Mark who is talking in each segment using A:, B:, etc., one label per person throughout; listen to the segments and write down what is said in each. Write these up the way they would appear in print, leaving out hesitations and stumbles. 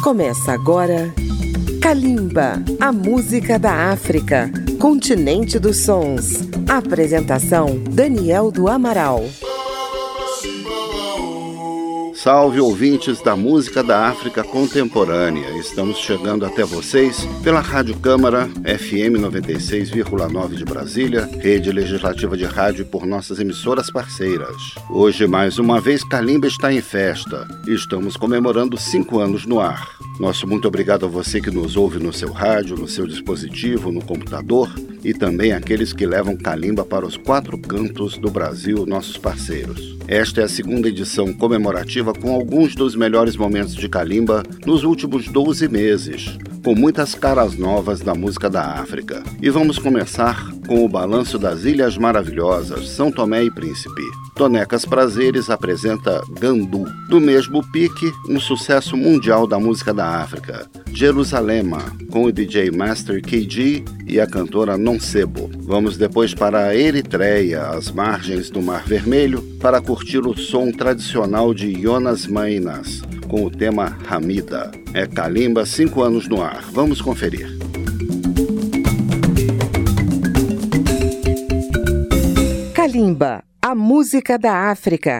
A: Começa agora Kalimba, a música da África, continente dos sons. Apresentação, Daniel do Amaral.
B: Salve, ouvintes da música da África contemporânea. Estamos chegando até vocês pela Rádio Câmara, FM 96,9 de Brasília, rede legislativa de rádio e por nossas emissoras parceiras. Hoje, mais uma vez, Kalimba está em festa e estamos comemorando 5 anos no ar. Nosso muito obrigado a você que nos ouve no seu rádio, no seu dispositivo, no computador e também aqueles que levam Kalimba para os 4 cantos do Brasil, nossos parceiros. Esta é a segunda edição comemorativa com alguns dos melhores momentos de Kalimba nos últimos 12 meses, com muitas caras novas da música da África. E vamos começar com o balanço das Ilhas Maravilhosas, São Tomé e Príncipe. Tonecas Prazeres apresenta Gandu, do mesmo pique, um sucesso mundial da música da África, Jerusalema, com o DJ Master KG e a cantora Nonsebo. Vamos depois para a Eritreia, às margens do Mar Vermelho, para curtir o som tradicional de Jonas Mainas, com o tema Hamida. É Kalimba, 5 anos no ar. Vamos conferir.
A: Kalimba, a música da África.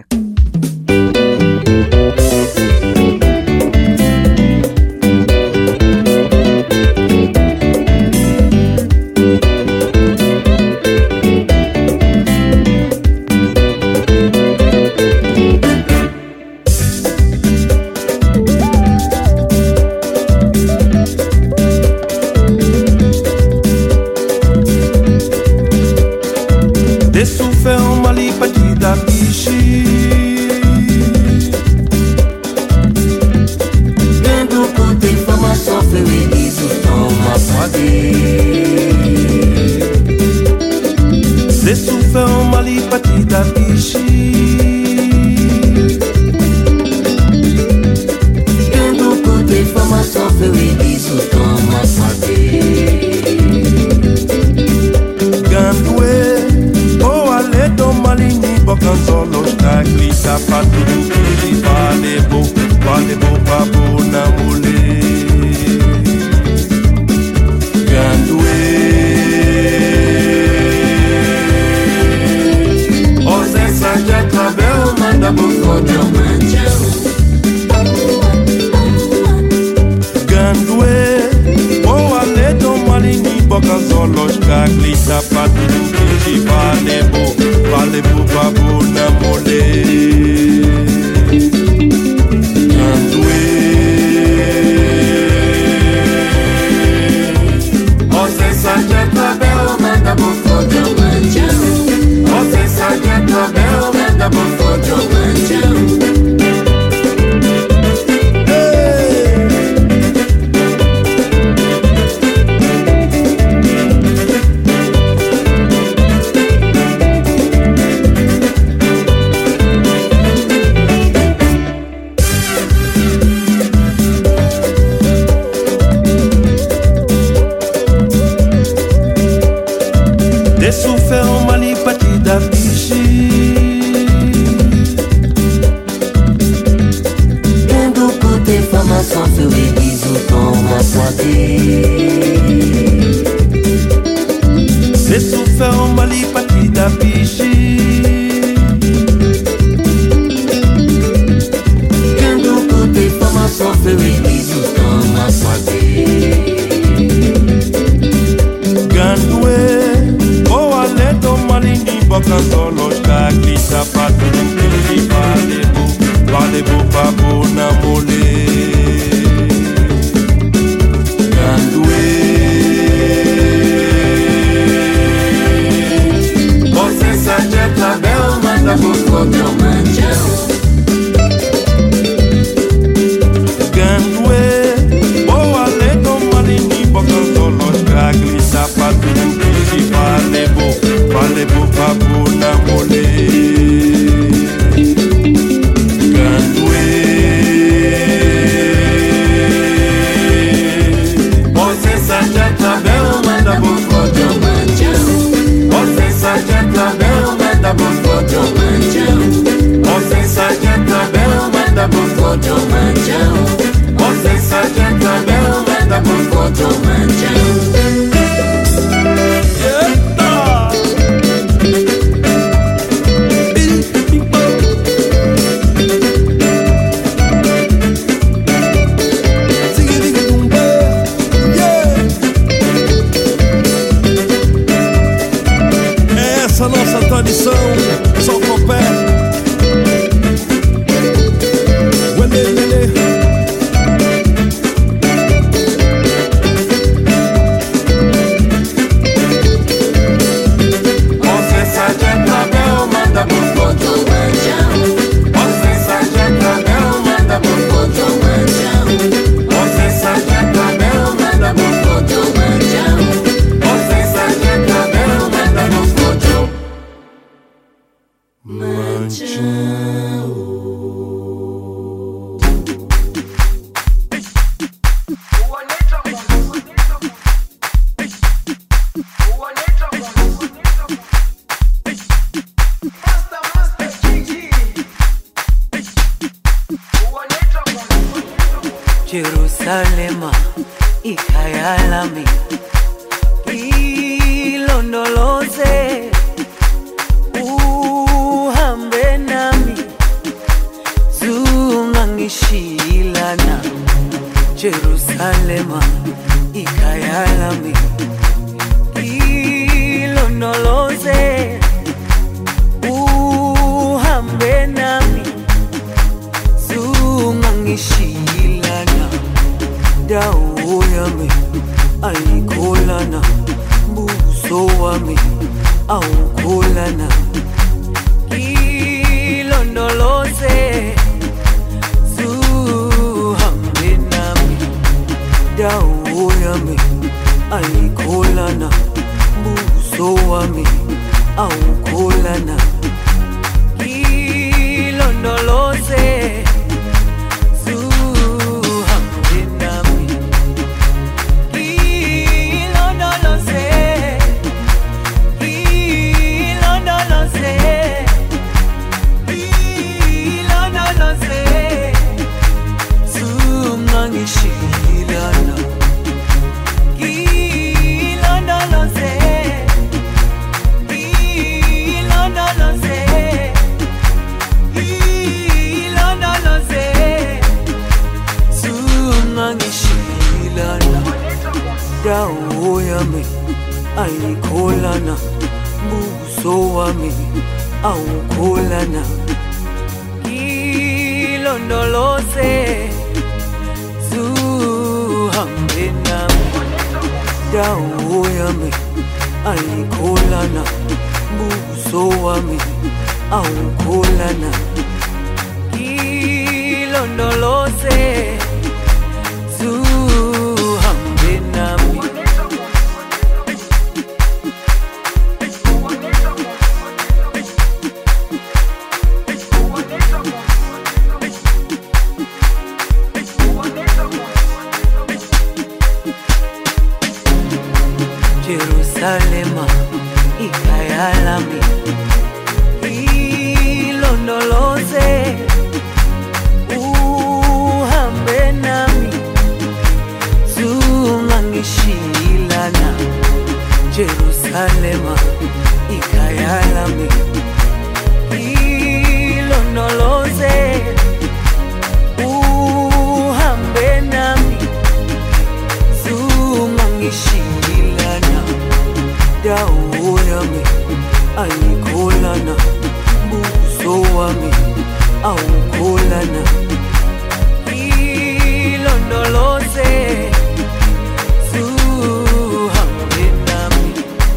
C: Vale, Jerusalema ikhaya lami, ilondoloze uhambe nami, zungangishilana. Jerusalema ikhaya lami, ilondoloze uhambe nami, zungangishilana. Dawo yami ayikholana, buso wami awukholana. Ilondoloze zuhambe nami, dawo yami ayikholana, buso wami awukholana. Ilondoloze dawo yami ayikholana, buso wami awukholana. Ilondoloze zuhambe nami, dawo yami ayikholana, buso wami awukholana. Ilondoloze zuhambe nami. Jerusalema ikhaya lami, ilondoloze uhambe nami, zungangishilana. Jerusalema ikhaya lami, ilondoloze uhambe nami, zungangishilana. Dawo yami ayikholana, buso wami awukholana. Ilondoloze zuhambe nami.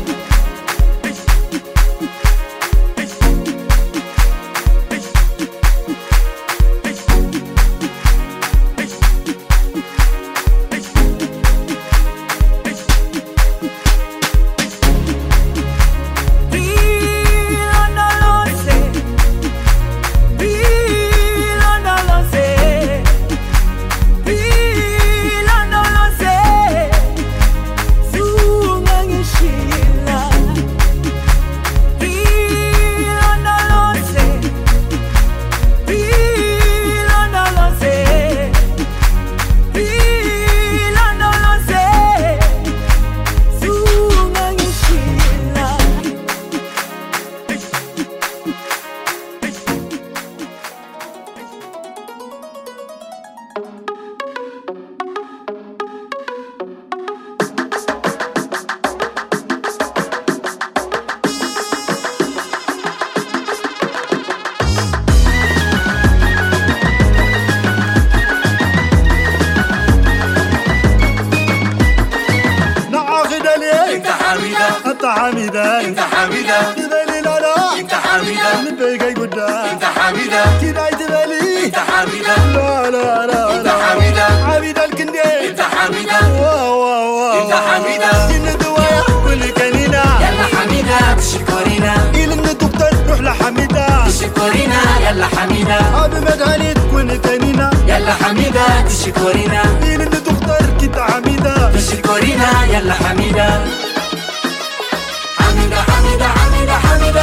D: انت حميدة انت حميدة تبالي لا لا انت حميدة نبيك قدام انت حميدة تناي تبالي انت حميدة لا لا لا انت حميدة حميدة الكندي انت حميدة واو واو واو انت حميدة إن دوايا كل كنينة يلا حميدة بشكورينا إلى الدكتور روح لحميدة بشكورينا يلا حميدة أبي مدعني تكون كنينة يلا حميدة بشكورينا إلى الدكتور كنت حميدة بشكورينا يلا حميدة حميدة حميدة حميدة حميدة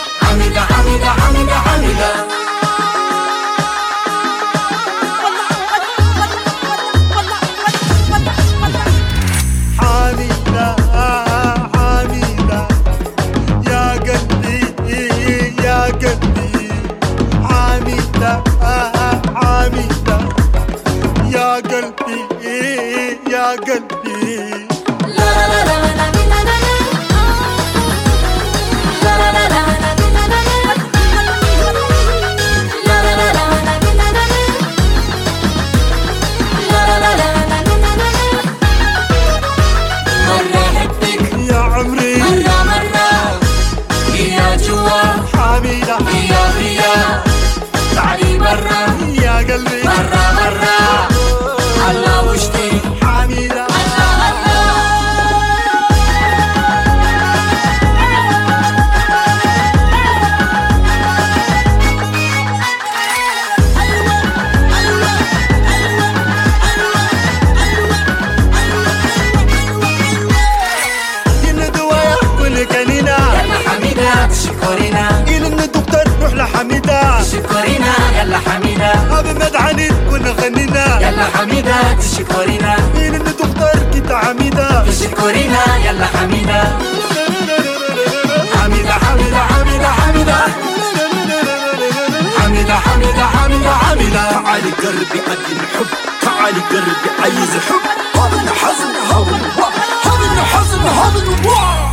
D: حميدة حميدة حميدة حميدة حميدة يا قلبي يا قلبي يا عمري مرة مرة يا جوا حميدة يا تعالي مرة يا قلبي مرة مرة الله وشتي حميدة حميدة تشكرينا يلا حميدة أبي مدعني كنا غنينا يلا حميدة تشكرينا مين اللي تختار كده حميدة تشكرينا يلا حميدة حميدة حميدة حميدة حميدة حميدة حميدة حميدة حميدة تعالي قربي قدم حب تعالي قربي عايز حب هذا حزن هذا حزن هذا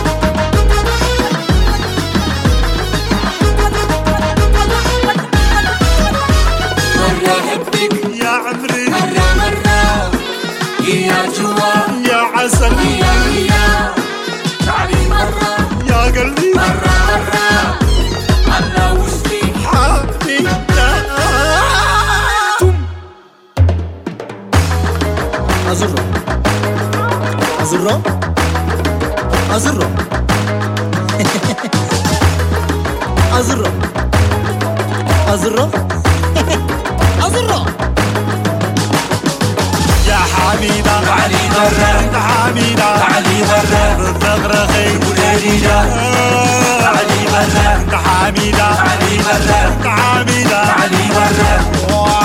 D: يا عمري مرة مرة يا جوا يا عسل يا تعالي مرة يا قلبي مرة مرة الله وشتي حميدة أزرة أزرة أزرة أزرة أزرة أزرة يا حميدة تعالي مرة انت حميدة تعالي مرة بالزغرخي وليلة تعالي مرة انت حميدة تعالي مرة انت حميدة تعالي مرة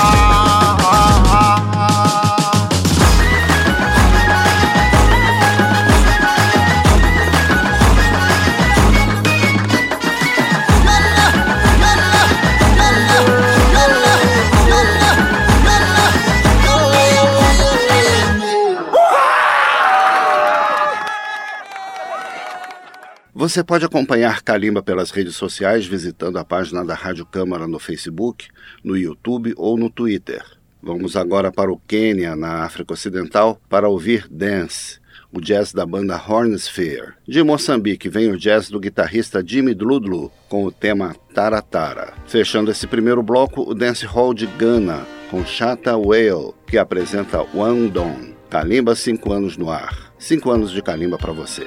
B: Você pode acompanhar Kalimba pelas redes sociais visitando a página da Rádio Câmara no Facebook, no YouTube ou no Twitter. Vamos agora para o Quênia, na África Ocidental, para ouvir Dance, o jazz da banda Hornsphere. De Moçambique vem o jazz do guitarrista Jimmy Dludlu, com o tema Tara Tara. Fechando esse primeiro bloco, o dancehall de Gana, com Shatta Wale, que apresenta One Don. Kalimba 5 anos no ar. 5 anos de Kalimba para você.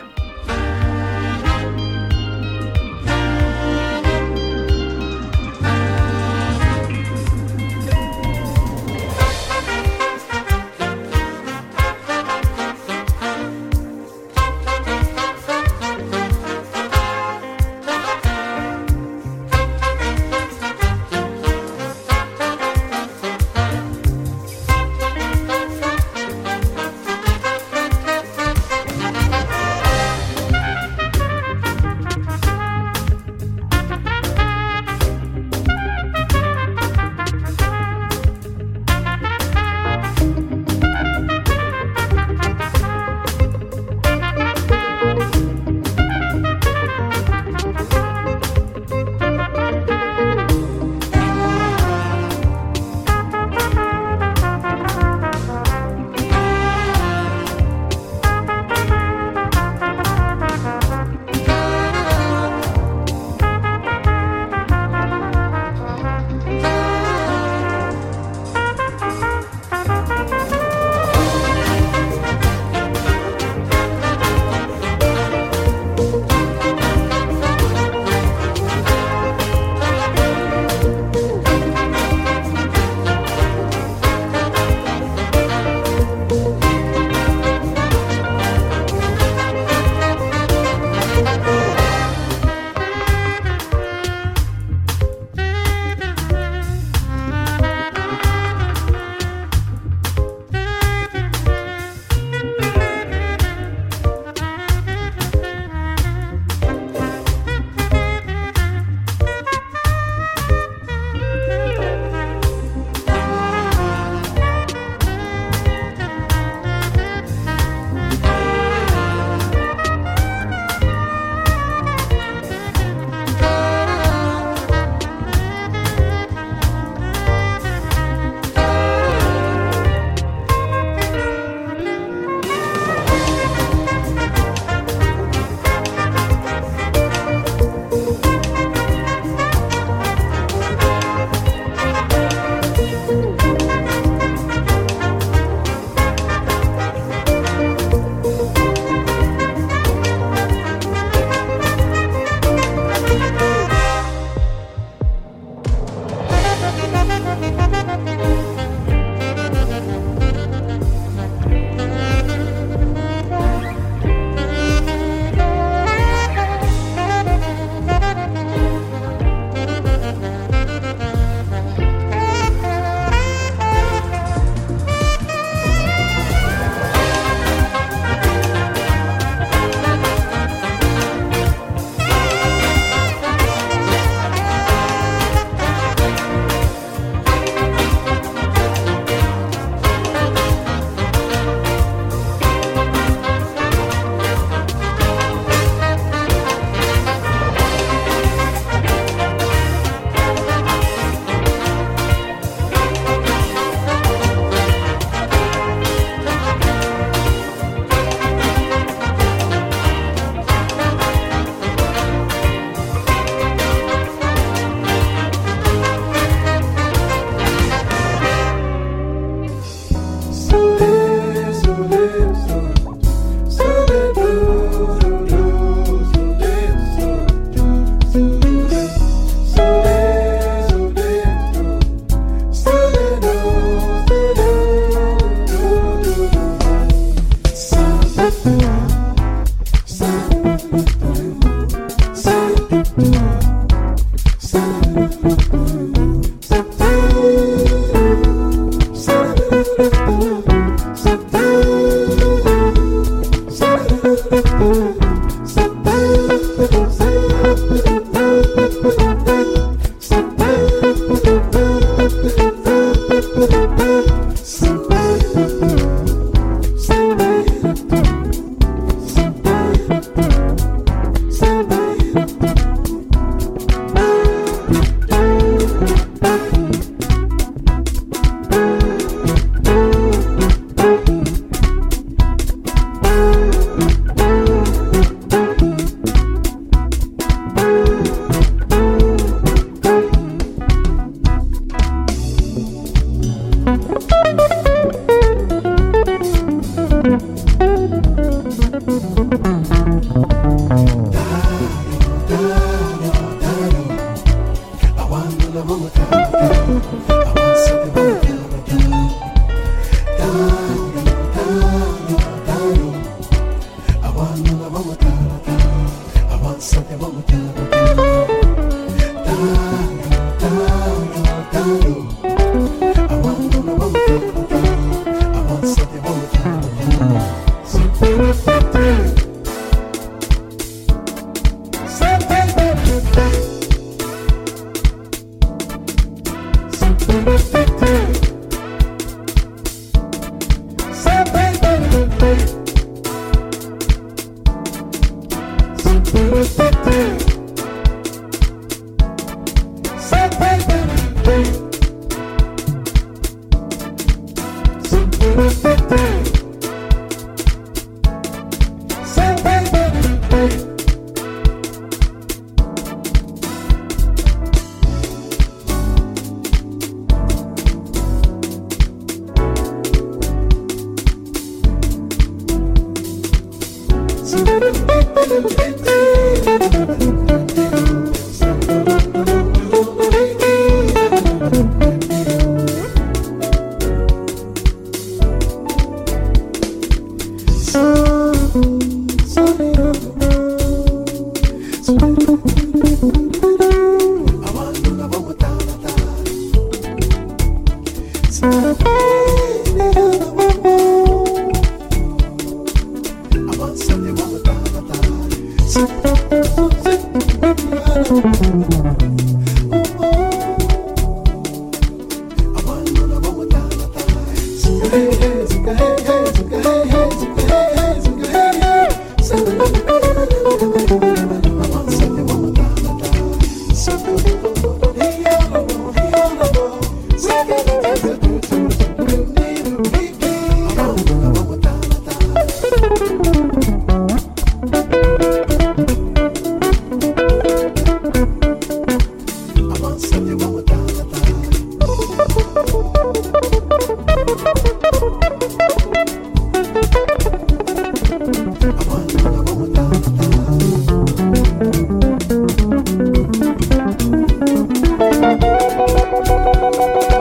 E: Thank you.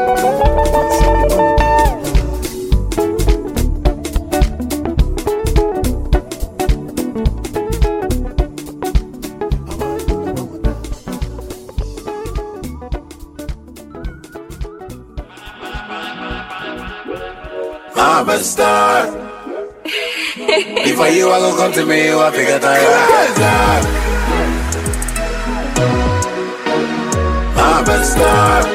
E: I'm a star. Before you I go come to me, you I figure that I'm a star.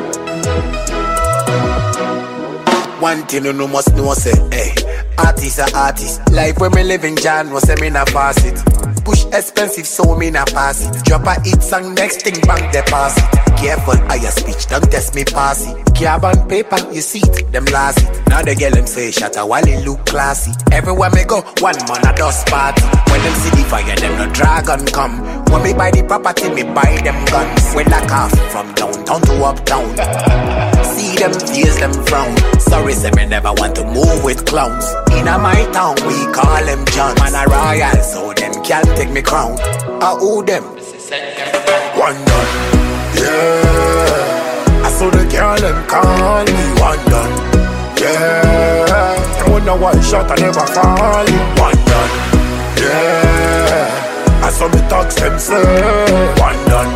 E: One thing you know must know say, hey, artist are artist. Life when me living John was say me na pass it. Push expensive so me na pass it. Drop a hit song next thing bank deposit. Careful higher speech, don't test me pass it. Carbon paper, you see it, them last it. Now the girl them say shut a while it look classy. Everywhere me go, one man a dust party. When them see the fire, them no dragon come. When me buy the property, me buy them guns. We lock off from downtown to uptown. See them face, them frown. Sorry, say me never want to move with clowns. In a my town, we call them John. Man a royal, so them can't take me crown. I owe them. One done, yeah. I saw the girl them call me one done, yeah. I wonder why shot I never fall. One done, yeah. I saw me talks them say one done,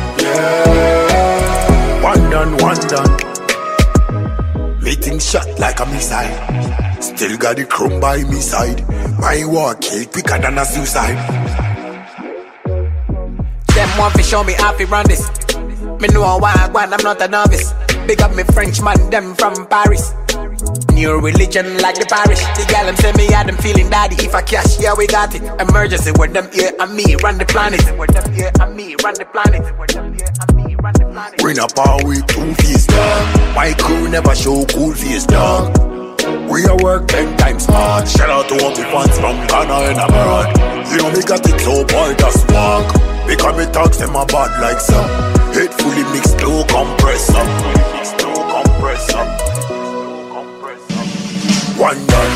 E: yeah. One done, one done. Meeting shot like a missile. Still got the chrome by me side. My war kill quicker than a suicide. Them want to show me how to run this. Me know why I want, I'm not a novice. Big up me French man, them from Paris. New religion like the parish. The gal them say me had them feeling daddy. If I cash, yeah we got it. Emergency with them here and me run the planet. With them here and me run the planet. With them here and me run the planet. Bring up our way two face dog. My crew never show cool face dog. We a work 10 times hard. Shout out to all the fans from Ghana and abroad. You know me got it so boy just walk. Because me talks them a bad like some. Head fully mixed, no compressor. One done,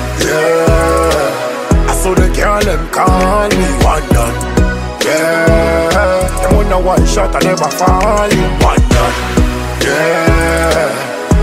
E: yeah. I saw the girl them call me one done, yeah. Them wonder why shot I never fall. One done, yeah.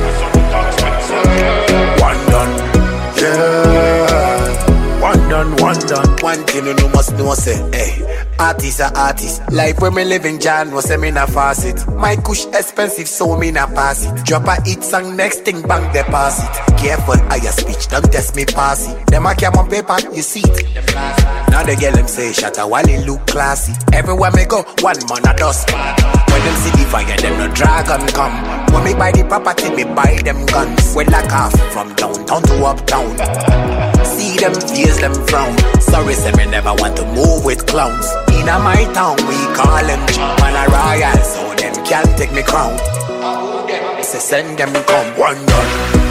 E: One done, yeah. One done, one done. One thing you know must know say, hey. Artists are artists. Life when me living John was say me na faucet. My kush expensive so me na pass it. Drop a hit song next thing bank deposit. Careful higher speech, don't test me pass it. Them a carbon paper, you see it. Now the girl them say shut a while it look classy. Everywhere me go, one man a dust. When them see the fire, them no dragon come. When me buy the property, me buy them guns. We lock off from downtown to uptown. See them face, them frown. Sorry, say me never want to move with clowns. In a my town, we call them man a royal, so them can't take me crown. Say send them come. One done,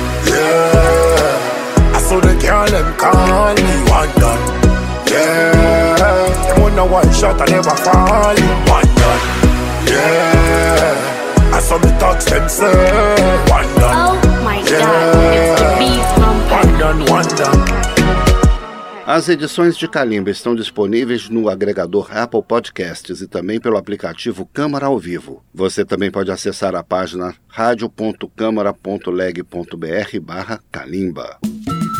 E: yeah. I saw the girl them call me one done, yeah. Them wonder why shot I never fall. One done, yeah. I saw the talks them say one done.
F: Oh my God, it's the beat from
E: One done, one done.
B: As edições de Kalimba estão disponíveis no agregador Apple Podcasts e também pelo aplicativo Câmara ao Vivo. Você também pode acessar a página radio.câmara.leg.br/Kalimba.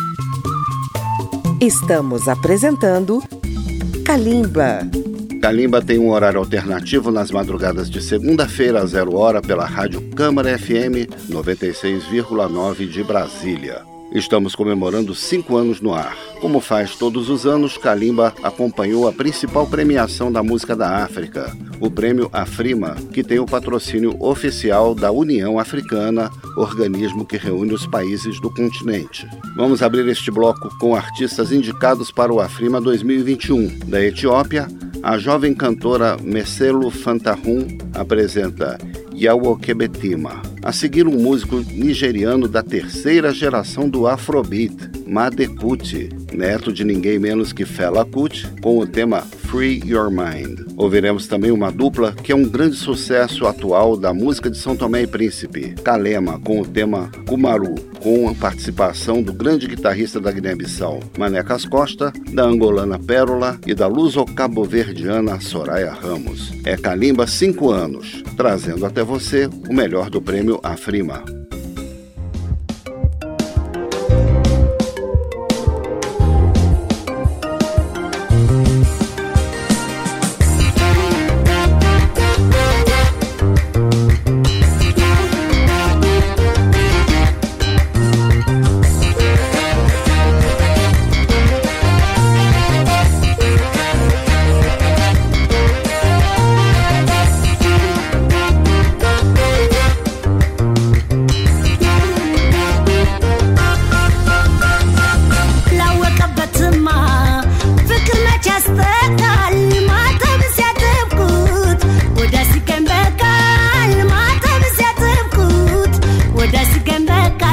A: Estamos apresentando Kalimba.
B: Kalimba tem um horário alternativo nas madrugadas de segunda-feira às 0h pela Rádio Câmara FM 96,9 de Brasília. Estamos comemorando 5 anos no ar. Como faz todos os anos, Kalimba acompanhou a principal premiação da música da África, o Prêmio Afrima, que tem o patrocínio oficial da União Africana, organismo que reúne os países do continente. Vamos abrir este bloco com artistas indicados para o Afrima 2021. Da Etiópia, a jovem cantora Meselo Fantahun apresenta Yawo Kebetima. A seguir, um músico nigeriano da terceira geração do Afrobeat, Made Kuti, neto de ninguém menos que Fela Kuti, com o tema Free Your Mind. Ouviremos também uma dupla que é um grande sucesso atual da música de São Tomé e Príncipe, Kalema, com o tema Kumaru, com a participação do grande guitarrista da Guiné-Bissau, Manecas Costa, da angolana Pérola e da luso-cabo-verdiana Soraya Ramos. É Kalimba 5 anos, trazendo até você o melhor do prêmio Afrima.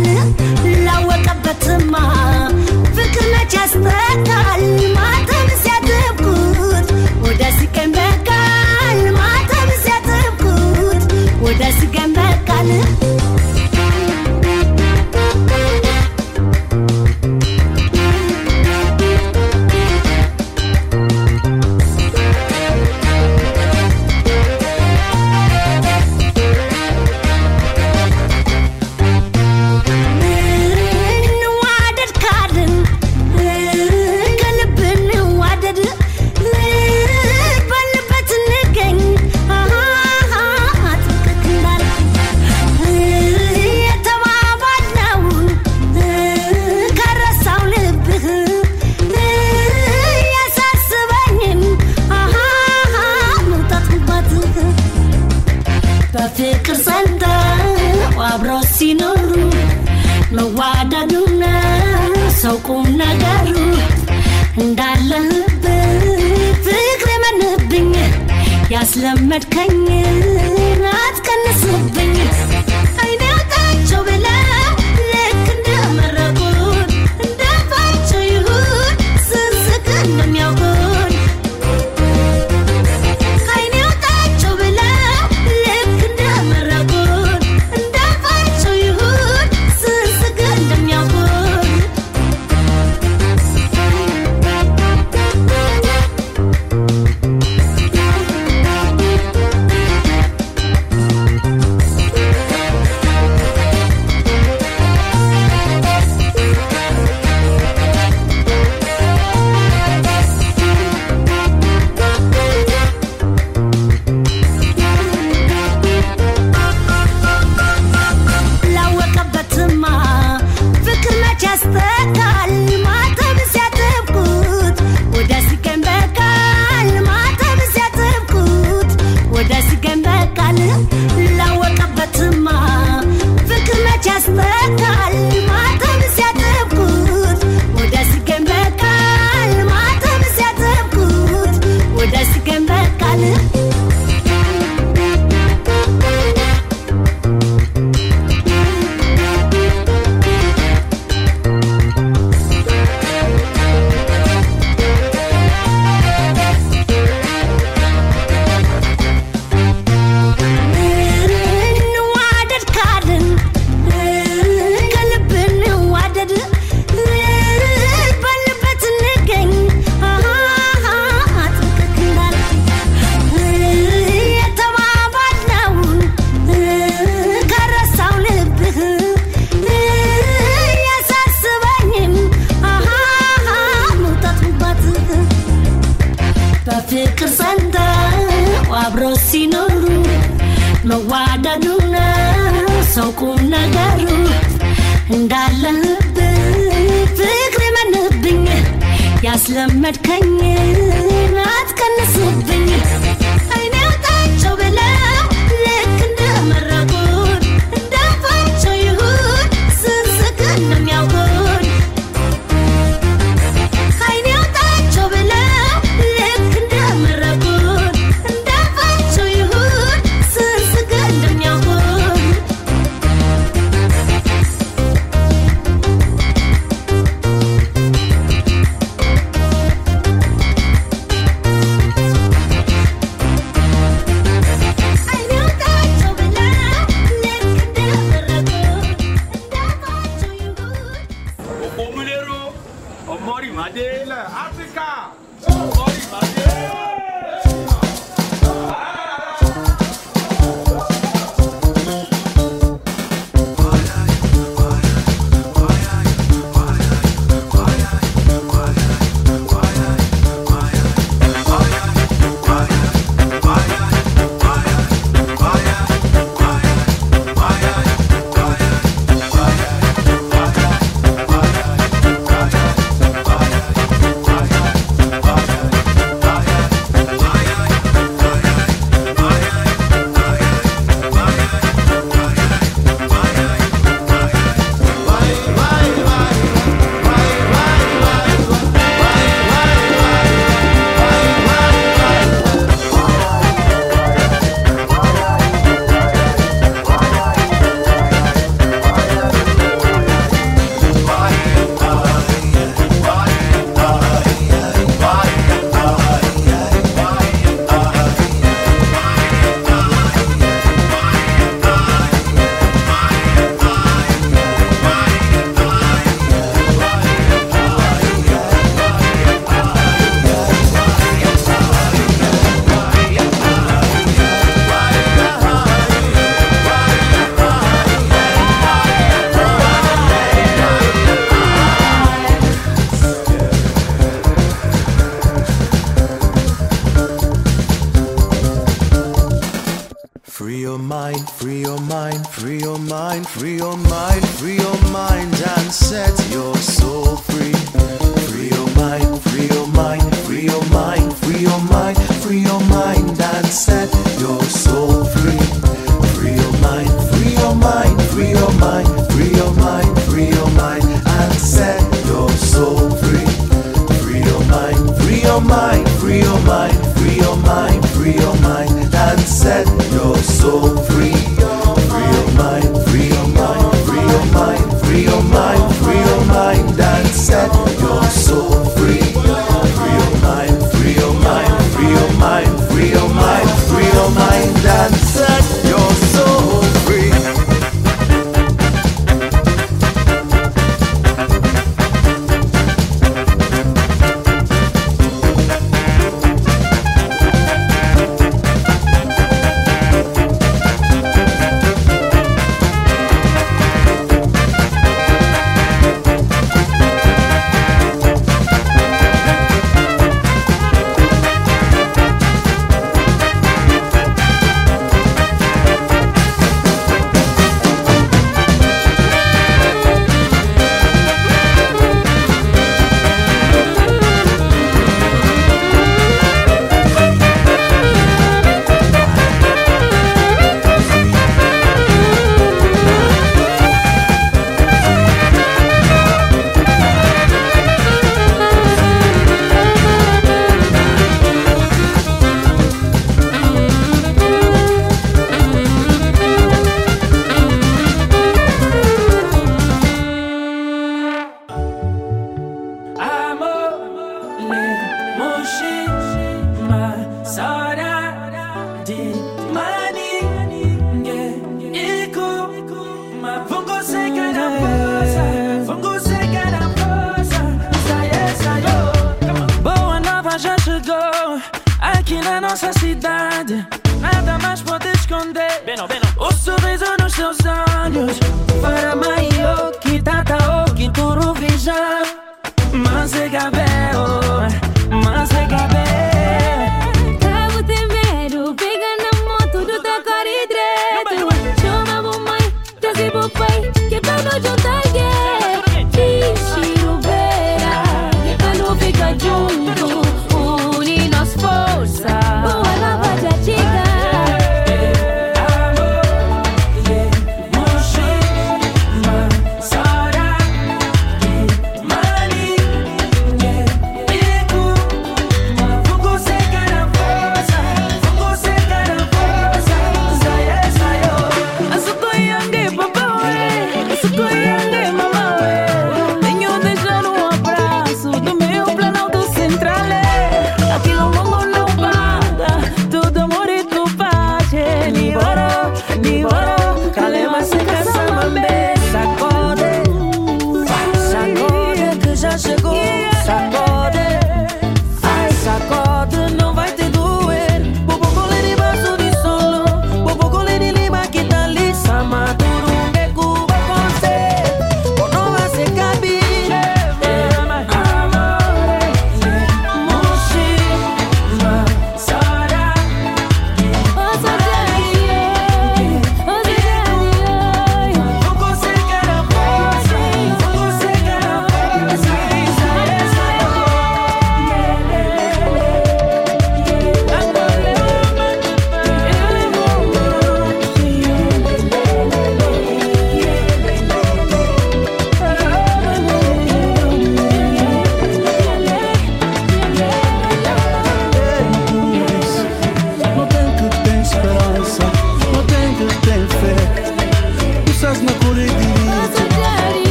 G: ያስጠቃል ላወቀበትማ ፍቅር መች ያስጠቃል ማተም ሲያጥብቁት ወደ ሲቀን በቃል ማተም ሲያጥብቁት ወደ ሲቀን በቃል ፍቅር ሰንታ አብሮ ሲኖሩ መዋደዱና ሰው ቁም ነገሩ እንዳለህበት ፍቅር መንብኝ ያስለመድከኝ አትቀንስብኝ አይናታቸው ብለው ልክ እንደመረቁን እንደፋቸው ይሁን ስንስቅ እንደሚያውቁን ፍቅር ሰንታ አብሮ ሲኖሩ መዋደዱና ሰው ቁም ነገሩ እንዳለህበት ፍቅር መንብኝ ያስለመድከኝ አትቀንስብኝ አይናታቸው ብለው ልክ እንደመረቁን እንደፋቸው ይሁን ስንስቅ እንደሚያውቁን
C: free your mind, free your mind, free your mind and set your soul free. Free your mind, free your mind, free your mind, free your mind, free your mind and set your soul free. Free your mind, free your mind, free your mind, free your mind, free your mind and set your soul free. Free your mind, free your mind, free your mind, free your mind, free your mind and set your soul free. Free your mind, free your mind, free your mind, free your mind, free your mind and set your soul free. Free your mind, free your mind, free your mind, free your mind, free your mind and set your soul free.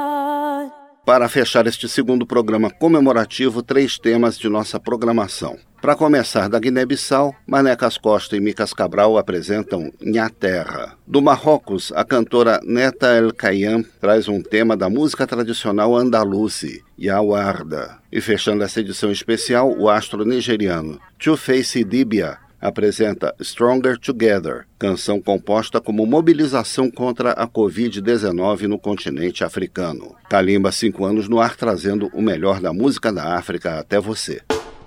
B: Para fechar este segundo programa comemorativo, 3 temas de nossa programação. Para começar, da Guiné-Bissau, Manecas Costa e Micas Cabral apresentam Nha Terra. Do Marrocos, a cantora Neta El Kayam traz um tema da música tradicional andaluzi, Ya Warda. E fechando essa edição especial, o astro nigeriano Two-Face Idibia apresenta Stronger Together, canção composta como mobilização contra a Covid-19 no continente africano. Kalimba, 5 anos no ar, trazendo o melhor da música da África até você.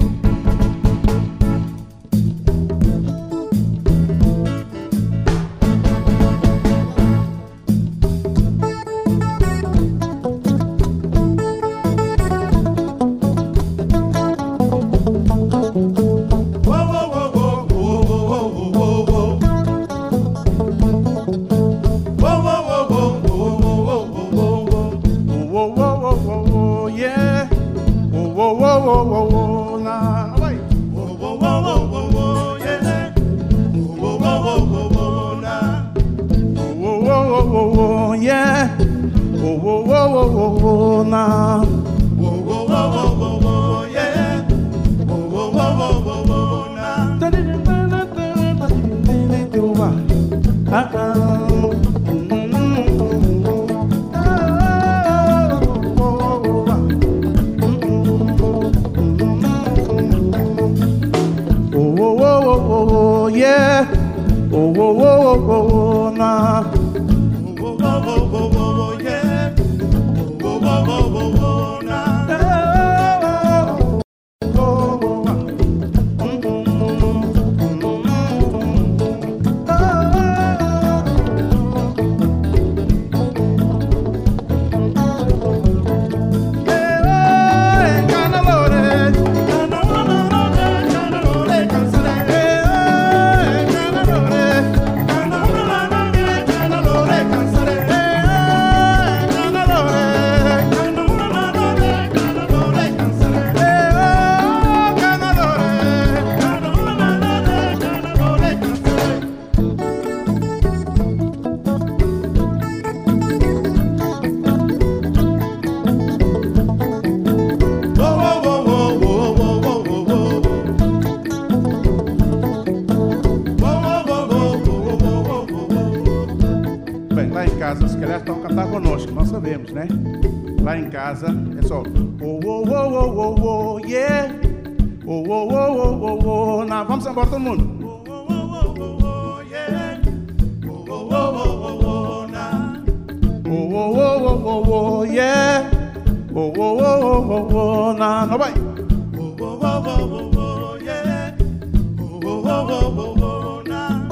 H: Né? Lá em casa é só oh, oh, oh, oh, oh, oh, yeah. Oh, oh, oh, oh, oh, oh. Não, vamos embora todo mundo. Oh, oh, oh, oh, oh, yeah. Oh, oh, oh, oh, oh, na. Oh, oh, oh, oh, oh, yeah. Oh, oh, oh, oh, oh, na. Não vai. Oh, oh, oh, oh, oh, yeah. Oh, oh, oh, oh, oh, na.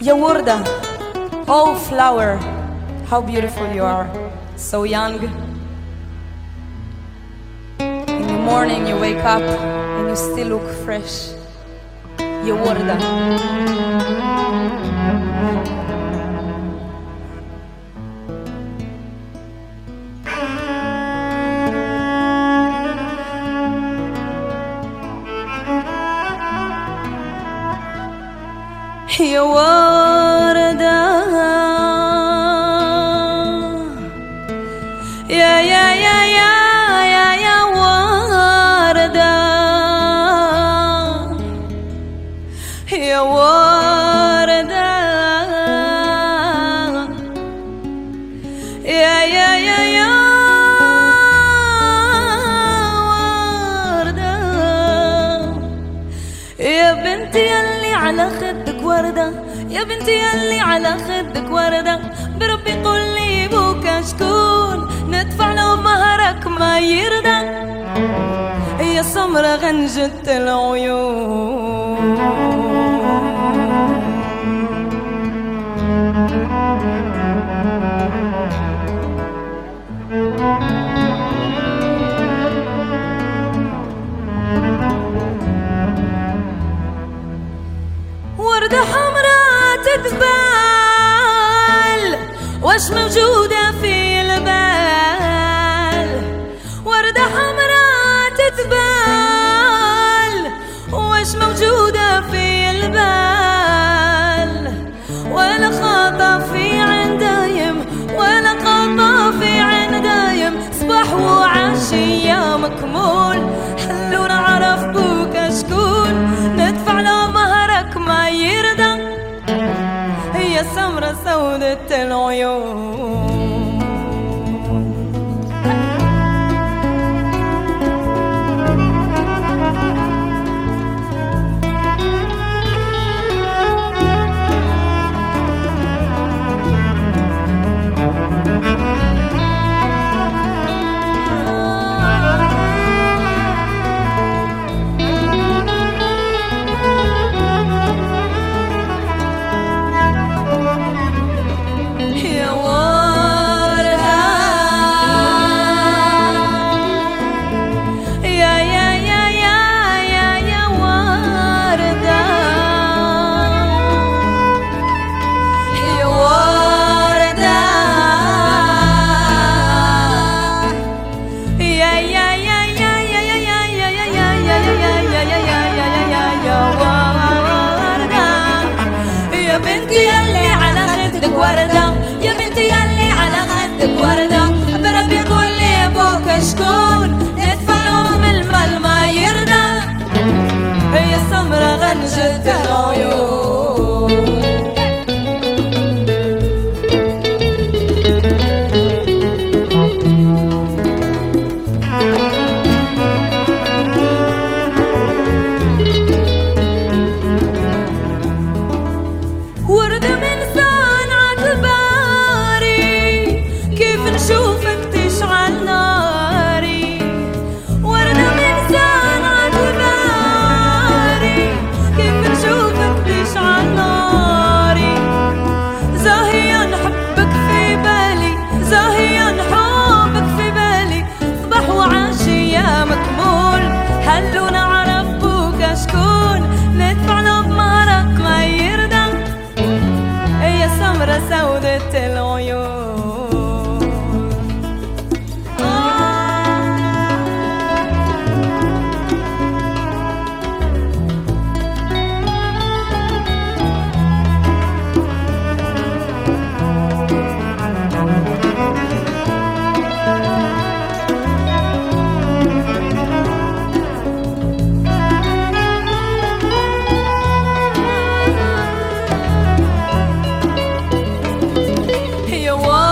I: Ya Warda, oh flower, how beautiful you are, so young. In the morning you wake up and you still look fresh. Ya Warda. يا وردة يا يا يا يا يا يا وردة يا وردة يا يا يا يا وردة يا بنتي اللي على خدك وردة يا بنتي يلي على خدك وردة بربي قول لي بوك شكون ندفع له مهرك ما يرضى يا سمرة غنجة العيون وردة حمراء تتبال واش موجودة في البال وردة حمراء تتبال واش موجودة في البال ولا خاطة في عين دايم ولا خاطة في عين دايم صباح وعشية مكمول حلو نعرف بوك شكون ندفع له مهرك ما يرضى هي سمرة سودة العيون يا بنتي يلي على خدك وردة بربي قول لي ابوك شكون ندفع لهم المال ما يرضى هي سمرة غنجة العيون وردة من شوفك تشعل ناري وردة من سنة باري كيف نشوفك تشعل ناري زاهيا نحبك في بالي زاهيا نحبك في بالي صباح وعشية مكمول هلو نعرف بوك شكون ندفع له بمهرك ما يرضى هي سمرة سودة العيون يا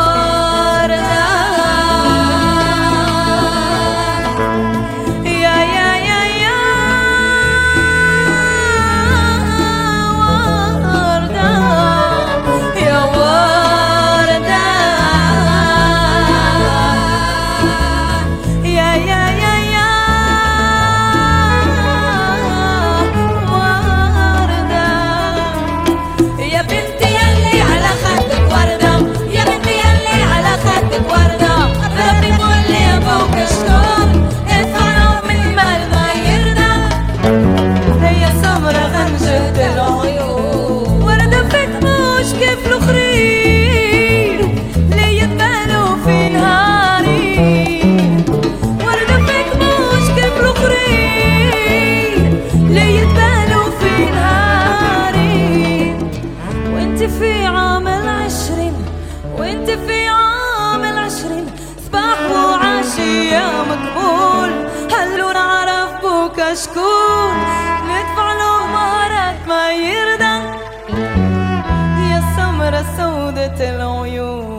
I: عام 20 وانت في عام 20 صباح وعشية مقبول هلو نعرف بوكا شكون ندفع له مهرك ما يرضى يا سمرة سودة العيون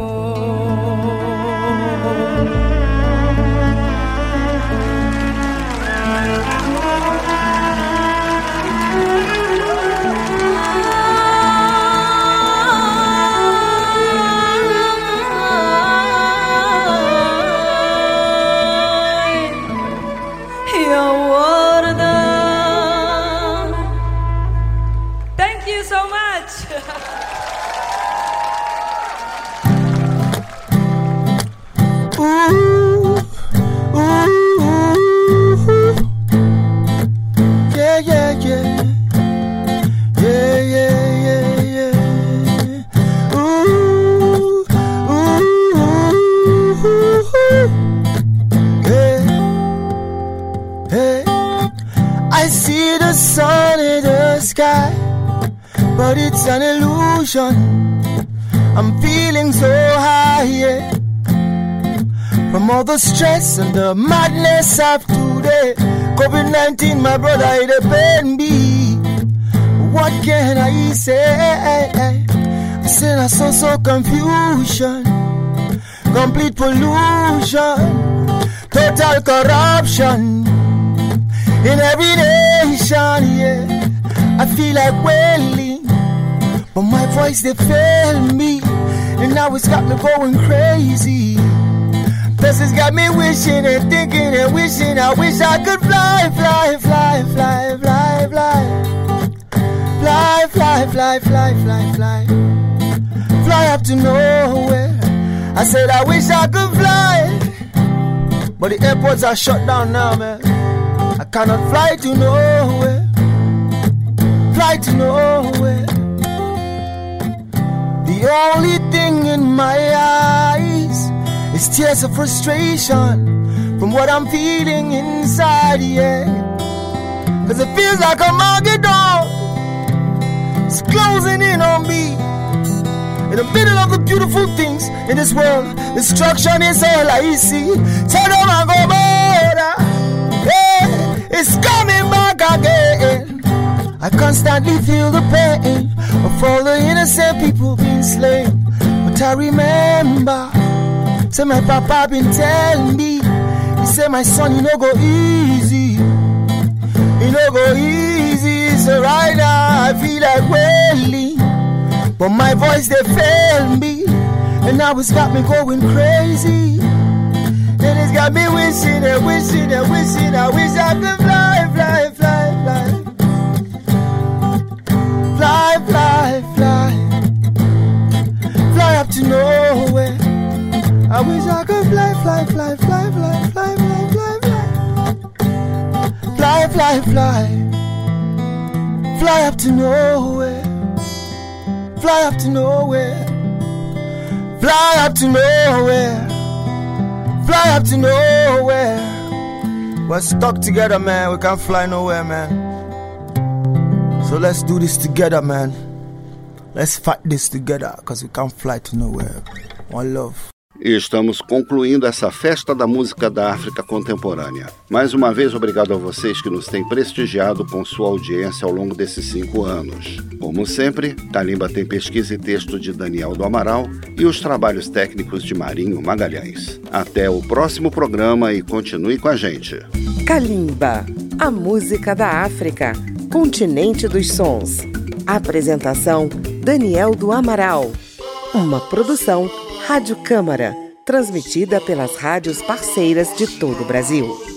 J: But it's an illusion. I'm feeling so high, yeah. From all the stress and the madness of today. COVID-19, my brother, it pain me. What can I say? I said I saw so confusion, complete pollution, total corruption in every nation, yeah. I feel like wailing, but my voice they fail me, and now it's got me going crazy. Plus it's got me wishing and thinking and wishing. I wish I could fly, fly, fly, fly, fly, fly, fly, fly, fly, fly, fly, fly, fly up to nowhere. I said I wish I could fly, but the airports are shut down now, man. I cannot fly to nowhere. Fly to nowhere. The only thing in my eyes is tears of frustration from what I'm feeling inside, yeah. Cause it feels like a Armageddon. It's closing in on me. In the middle of the beautiful things in this world, destruction is all I see. Sodom and Gomorrah, yeah, it's coming back again. I constantly feel the pain of all the innocent people being slain. But I remember, say my papa been telling me, he said my son, you know go easy, you know go easy. So right now I feel like wailing, but my voice they fail me, and now it's got me going crazy. And it's got me wishing and wishing and wishing. I wish I could fly, fly, fly, fly. Fly, fly, fly, fly up to nowhere. I wish I could fly, fly, fly, fly, fly, fly, fly, fly, fly, fly, fly, fly up to nowhere. Fly up to nowhere. Fly up to nowhere. Fly up to nowhere. We're stuck together, man. We can't fly nowhere, man. So let's do this together, man. Let's fight this together, because we can't fly to nowhere. One love.
B: E estamos concluindo essa festa da música da África contemporânea. Mais uma vez, obrigado a vocês que nos têm prestigiado com sua audiência ao longo desses 5 anos. Como sempre, Kalimba tem pesquisa e texto de Daniel do Amaral e os trabalhos técnicos de Marinho Magalhães. Até o próximo programa e continue com a gente.
A: Kalimba, a música da África, continente dos sons. Apresentação, Daniel do Amaral. Uma produção Rádio Câmara, transmitida pelas rádios parceiras de todo o Brasil.